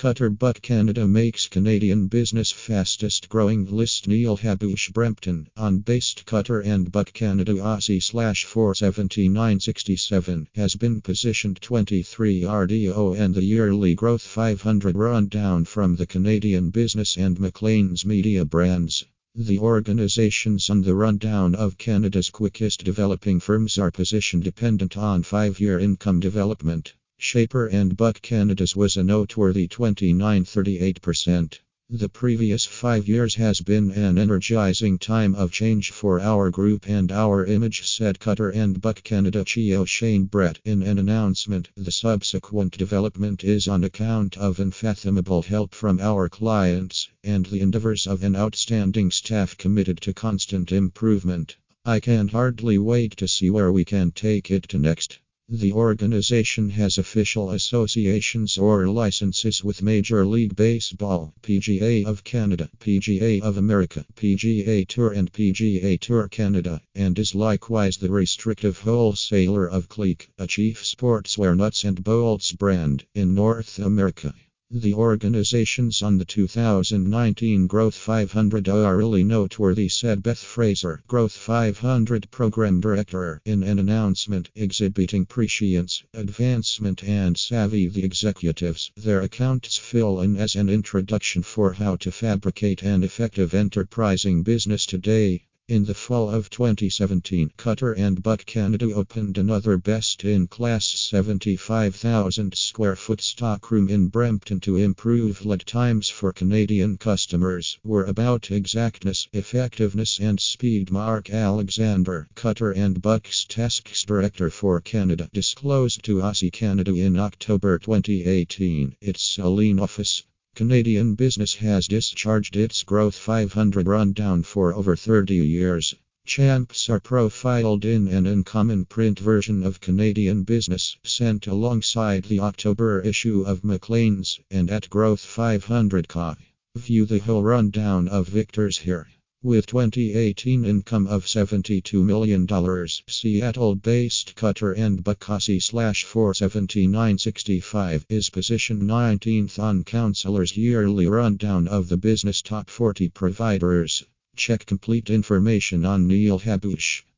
Qatar Buck Canada makes Canadian business fastest growing list. Neil Habush Brampton on based Qatar and Buck Canada Aussie /47967 has been positioned 23 RDO and the yearly growth 500 rundown from the Canadian business and Maclean's media brands. The organizations on the rundown of Canada's quickest developing firms are position dependent on 5-year income development. Shaper and Buck Canada's was a noteworthy 29.38%. The previous 5 years has been an energizing time of change for our group and our image, said Qatar and Buck Canada CEO Shane Brett in an announcement. The subsequent development is on account of unfathomable help from our clients and the endeavors of an outstanding staff committed to constant improvement. I can hardly wait to see where we can take it to next. The organization has official associations or licenses with Major League Baseball, PGA of Canada, PGA of America, PGA Tour and PGA Tour Canada, and is likewise the restrictive wholesaler of Clique, a chief sportswear nuts and bolts brand, in North America. The organizations on the 2019 Growth 500 are really noteworthy, said Beth Fraser, Growth 500 Program Director, in an announcement exhibiting prescience, advancement and savvy. The executives, their accounts fill in as an introduction for how to fabricate an effective enterprising business today. In the fall of 2017, Qatar and Buck Canada opened another best-in-class 75,000 square foot stockroom in Brampton to improve lead times for Canadian customers. We're about exactness, effectiveness and speed. Mark Alexander, Qatar and Buck's Tasks Director for Canada, disclosed to Aussie Canada in October 2018. It's a lean office. Canadian business has discharged its Growth 500 rundown for over 30 years. Champs are profiled in an uncommon print version of Canadian business sent alongside the October issue of Maclean's and at Growth 500.ca. View the whole rundown of Victor's here. With 2018 income of $72 million, Seattle-based Qatar and Buck Aussie /47965 is positioned 19th on Counselor's yearly rundown of the business top 40 providers. Check complete information on Neil Habush.